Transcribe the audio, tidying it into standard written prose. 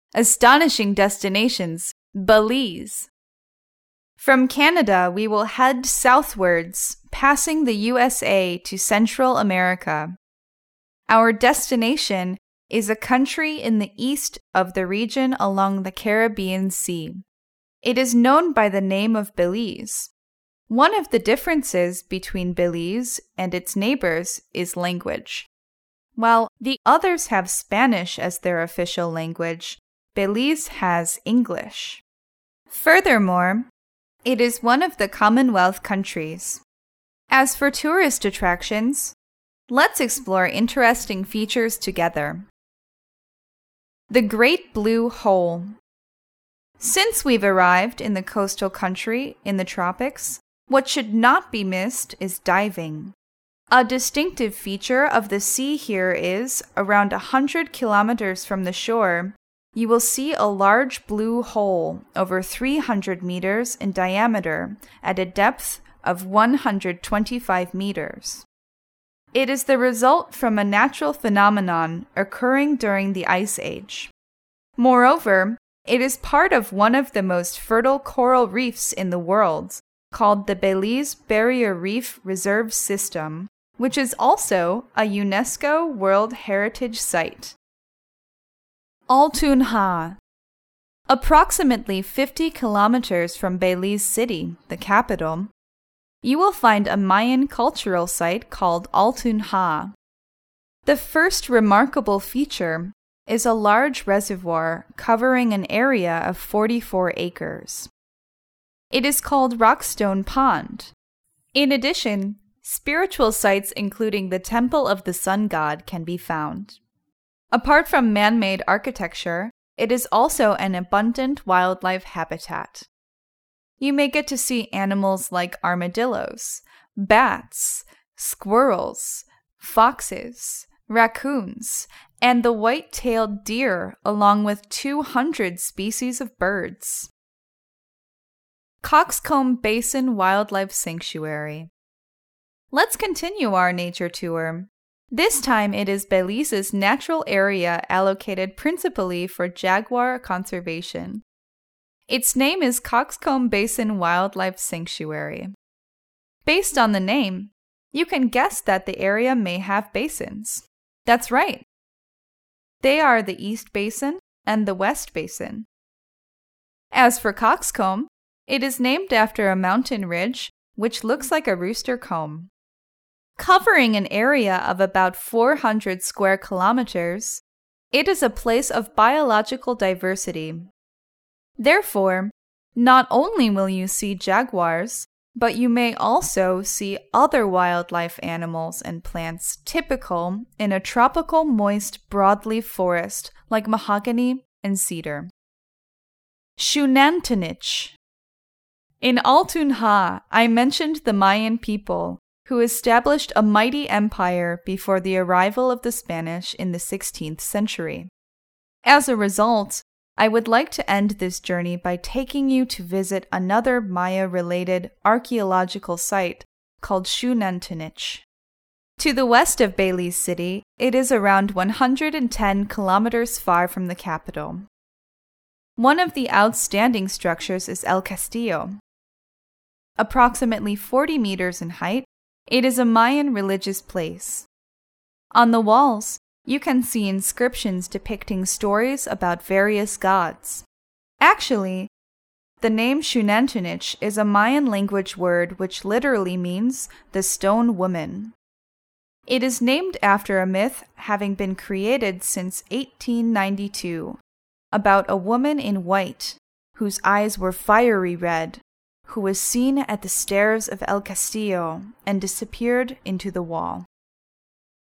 Astonishing destinations, Belize. From Canada, we will head southwards, passing the USA to Central America. Our destination is a country in the east of the region along the Caribbean Sea. It is known by the name of Belize. One of the differences between Belize and its neighbors is language. While the others have Spanish as their official language, Belize has English. Furthermore, it is one of the Commonwealth countries. As for tourist attractions, let's explore interesting features together. The Great Blue Hole. Since we've arrived in the coastal country in the tropics, what should not be missed is diving. A distinctive feature of the sea here is, around 100 kilometers from the shore, you will see a large blue hole over 300 meters in diameter at a depth of 125 meters. It is the result from a natural phenomenon occurring during the Ice Age. Moreover, it is part of one of the most fertile coral reefs in the world, called the Belize Barrier Reef Reserve System, which is also a UNESCO World Heritage Site. Altunja. Approximately 50 kilometers from Belize City, the capital, you will find a Mayan cultural site called Altunja. The first remarkable feature is a large reservoir covering an area of 44 acres. It is called Rockstone Pond. In addition, spiritual sites including the Temple of the Sun God can be found. Apart from man-made architecture, it is also an abundant wildlife habitat. You may get to see animals like armadillos, bats, squirrels, foxes, raccoons, and the white-tailed deer, along with 200 species of birds. Coxcomb Basin Wildlife Sanctuary. Let's continue our nature tour. This time it is Belize's natural area allocated principally for jaguar conservation. Its name is Coxcomb Basin Wildlife Sanctuary. Based on the name, you can guess that the area may have basins. That's right. They are the East Basin and the West Basin. As for Coxcomb, it is named after a mountain ridge which looks like a rooster comb. Covering an area of about 400 square kilometers, it is a place of biological diversity. Therefore, not only will you see jaguars, but you may also see other wildlife animals and plants typical in a tropical moist broadleaf forest like mahogany and cedar. Xunantunich. In Altunja, I mentioned the Mayan people, who established a mighty empire before the arrival of the Spanish in the 16th century. As a result, I would like to end this journey by taking you to visit another Maya-related archaeological site called Xunantunich. To the west of Belize City, it is around 110 kilometers far from the capital. One of the outstanding structures is El Castillo. Approximately 40 meters in height, it is a Mayan religious place. On the walls, you can see inscriptions depicting stories about various gods. Actually, the name Xunantunich is a Mayan language word which literally means the stone woman. It is named after a myth having been created since 1892 about a woman in white whose eyes were fiery red, who was seen at the stairs of El Castillo and disappeared into the wall.